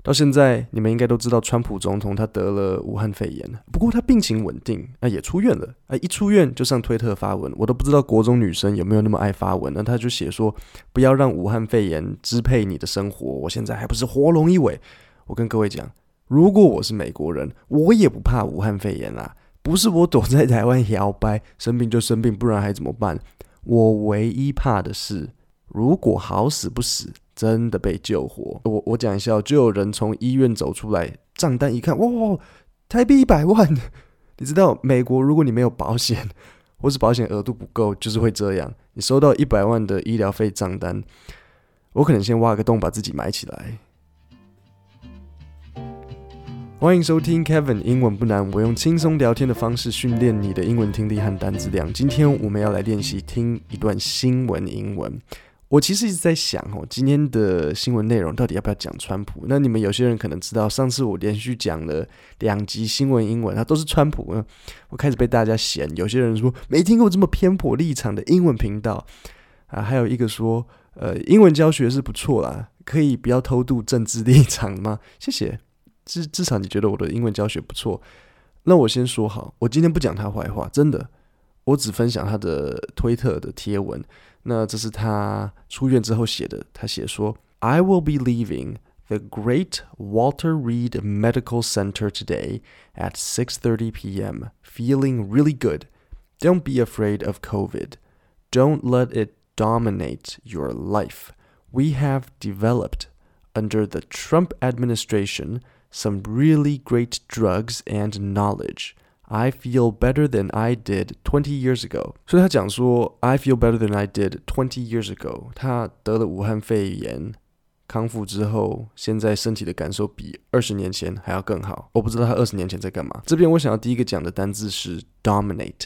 到现在你们应该都知道川普总统他得了武汉肺炎，不过他病情稳定，也出院了，一出院就上推特发文，我都不知道国中女生有没有那么爱发文，那他就写说不要让武汉肺炎支配你的生活，我现在还不是活龙一尾。我跟各位讲，如果我是美国人，我也不怕武汉肺炎啦，不是我躲在台湾摇摆，生病就生病，不然还怎么办？我唯一怕的是，如果好死不死真的被救活，我讲一下，就有人从医院走出来，账单一看，哇，台币100万！你知道美国如果你没有保险，或是保险额度不够，就是会这样。你收到100万的医疗费账单，我可能先挖个洞把自己埋起来。欢迎收听 Kevin 英文不难，我用轻松聊天的方式训练你的英文听力和单字量。今天我们要来练习听一段新闻英文。我其实一直在想今天的新闻内容到底要不要讲川普？那你们有些人可能知道，上次我连续讲了2集新闻英文，它都是川普。我开始被大家嫌，有些人说没听过这么偏颇立场的英文频道还有一个说，英文教学是不错啦，可以不要偷渡政治立场吗？谢谢，至少你觉得我的英文教学不错。那我先说好，我今天不讲他坏话，真的，我只分享他的推特的贴文。那这是他出院之后写的，他写说 I will be leaving the great Walter Reed Medical Center today at 6:30 p.m. feeling really good. Don't be afraid of COVID. Don't let it dominate your life. We have developed, under the Trump administration, some really great drugs and knowledge.I feel better than I did 20 years ago. 所以他讲说 I feel better than I did 20 years ago. 他得了武汉肺炎，康复之后，现在身体的感受比20年前还要更好。我不知道他20年前在干嘛。这边我想要第一个讲的单字是 dominate.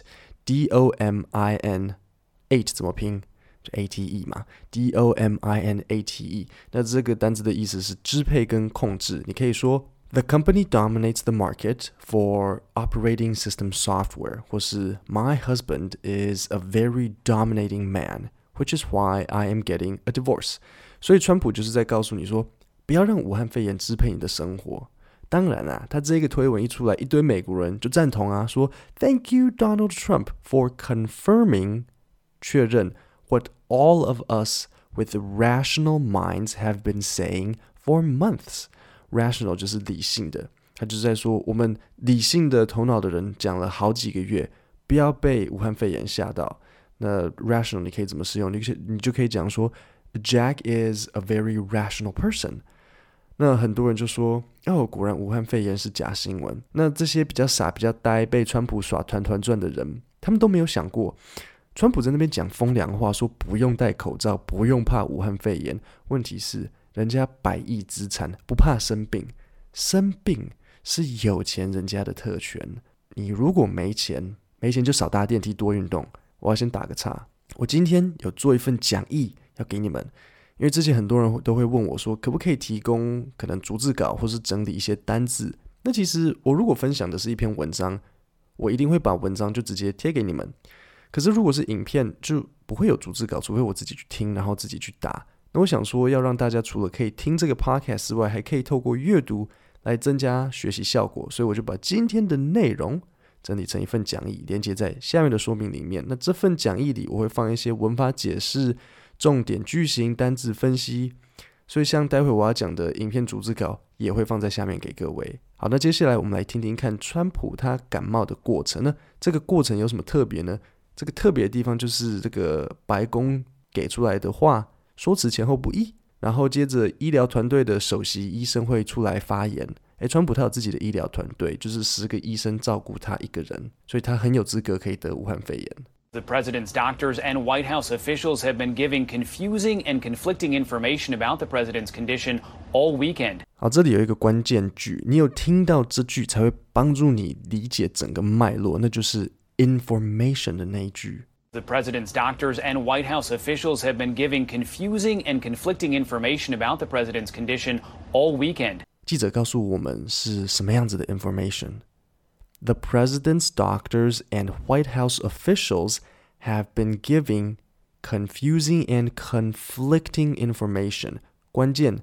D-O-M-I-N-8 怎么拼？就 A-T-E 嘛。D-O-M-I-N-A-T-E. 那这个单字的意思是支配跟控制。你可以说The company dominates the market for operating system software, 或是 My husband is a very dominating man, which is why I am getting a divorce. 所以川普就是在告诉你说，不要让武汉肺炎支配你的生活。当然他这个推文一出来，一堆美国人就赞同说 Thank you Donald Trump for confirming 确认 what all of us with rational minds have been saying for months.Rational 就是理性的，他就是在说我们理性的头脑的人讲了好几个月，不要被武汉肺炎吓到。那 rational 你可以怎么使用？你就可以讲说 Jack is a very rational person。那很多人就说果然武汉肺炎是假新闻。那这些比较傻比较呆被川普耍团团转的人，他们都没有想过川普在那边讲风凉话，说不用戴口罩，不用怕武汉肺炎。问题是人家100亿资产，不怕生病，生病是有钱人家的特权。你如果没钱就少搭电梯多运动。我要先打个岔，我今天有做一份讲义要给你们，因为之前很多人都会问我说可不可以提供可能逐字稿或是整理一些单字。那其实我如果分享的是一篇文章，我一定会把文章就直接贴给你们。可是如果是影片就不会有逐字稿，除非我自己去听然后自己去打。那我想说要让大家除了可以听这个 podcast 之外，还可以透过阅读来增加学习效果，所以我就把今天的内容整理成一份讲义，连接在下面的说明里面。那这份讲义里我会放一些文法解释、重点句型、单字分析，所以像待会我要讲的影片逐字稿也会放在下面给各位。好，那接下来我们来听听看川普他感冒的过程。那这个过程有什么特别呢？这个特别的地方就是这个白宫给出来的话说辞前后不一，然后接着医疗团队的首席医生会出来发言。川普他有自己的医疗团队，就是10个医生照顾他一个人，所以他很有资格可以得武汉肺炎。 The president's doctors and White House officials have been giving confusing and conflicting information about the president's condition all weekend. 好，这里有一个关键句，你有听到这句才会帮助你理解整个脉络，那就是 information 的那一句。 The president's doctors and White House officials have been giving confusing and conflicting information about the president's condition all weekend. 记者告诉我们是什么样子的 information? The president's doctors and White House officials have been giving confusing and conflicting information. 关键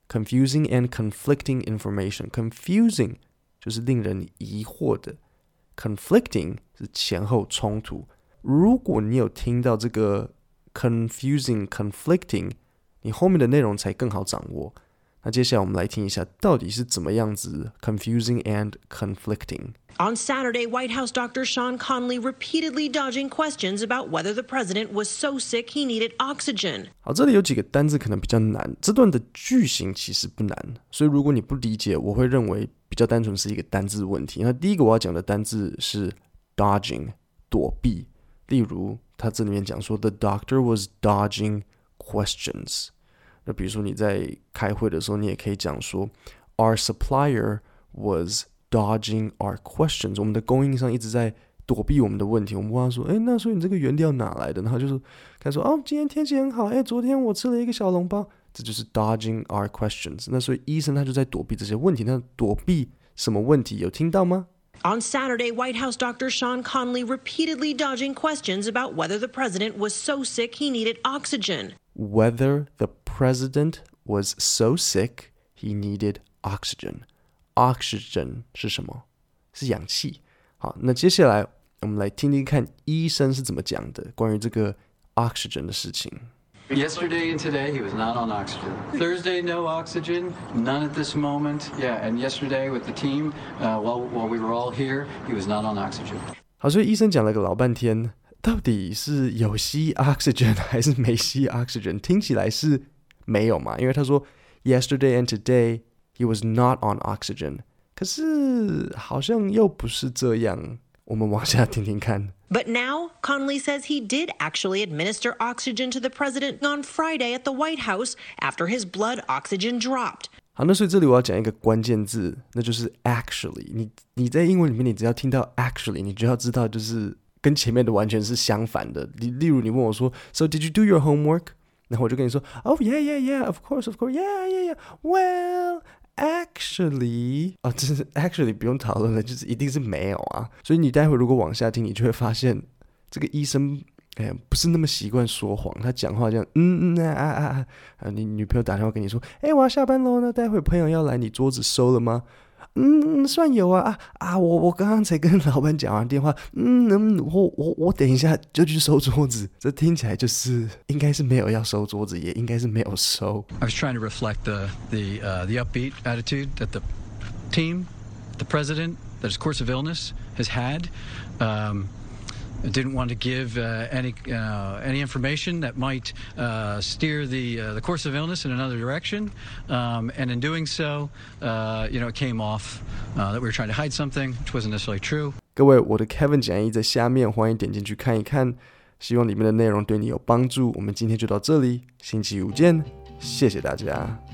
confusing and conflicting information. Confusing 就是令人疑惑的， conflicting 是前后冲突。如果你有听到这个 confusing, conflicting， 你后面的内容才更好掌握。那接下来我们来听一下到底是怎么样子 confusing and conflicting。 On Saturday, White House Dr. Sean Conley repeatedly dodging questions about whether the president was so sick he needed oxygen. 好，这里有几个单字可能比较难，这段的句型其实不难，所以如果你不理解，我会认为比较单纯是一个单字问题。那第一个我要讲的单字是 dodging， 躲避。例如他这里面讲说 The doctor was dodging questions。那比如说你在开会的时候，你也可以讲说 Our supplier was dodging our questions。 我们的供应商一直在躲避我们的问题。我们问他说，那所以你这个原料哪来的？然后就是开始说，今天天气很好，昨天我吃了一个小笼包。这就是 dodging our questions。 那所以医生他就在躲避这些问题。那躲避什么问题？有听到吗？ On Saturday, White House Dr. Sean Conley repeatedly dodging questions about whether the president was so sick he needed oxygen. Whether the president was so sick he needed oxygen. Oxygen 是什么？是氧气。好，那接下来我们来听听看医生是怎么讲的，关于这个 oxygen 的事情。 Yesterday and today, he was not on oxygen. Thursday, no oxygen, none at this moment. Yeah, and yesterday with the team, while we were all here, he was not on oxygen. 好，所以医生讲了个老半天，到底是有吸 oxygen 还是没吸 oxygen？ 听起来是没有嘛，因为他说 yesterday and today, he was not on oxygen。 可是好像又不是这样，我们往下听听看。 But now, Conley says he did actually administer oxygen to the president on Friday at the White House after his blood oxygen dropped. 好，那所以这里我要讲一个关键字，那就是 actually。 你在英文里面，你只要听到 actually， 你就要知道就是跟前面的完全是相反的。例如你问我说 So did you do your homework？ 然后我就跟你说 Oh yeah, of course, yeah. Well, actually 这是 actually 不用讨论了，就是一定是没有啊。所以你待会如果往下听，你就会发现这个医生不是那么习惯说谎，他讲话这样你女朋友打电话跟你说我要下班咯，那待会朋友要来，你桌子收了吗？算有啊我刚刚才跟老板讲完电话，我等一下就去收桌子。这听起来就是应该是没有要收桌子，也应该是没有收。 I was trying to reflect the upbeat attitude that the team, the president, that his course of illness has had. Didn't want to give any information that might steer the course of illness in another direction, and in doing so, it came off that we were trying to hide something, which wasn't necessarily true. 各位，我的 Kevin 讲义在下面，欢迎点进去看一看，希望里面的内容对你有帮助。我们今天就到这里，星期五见，谢谢大家。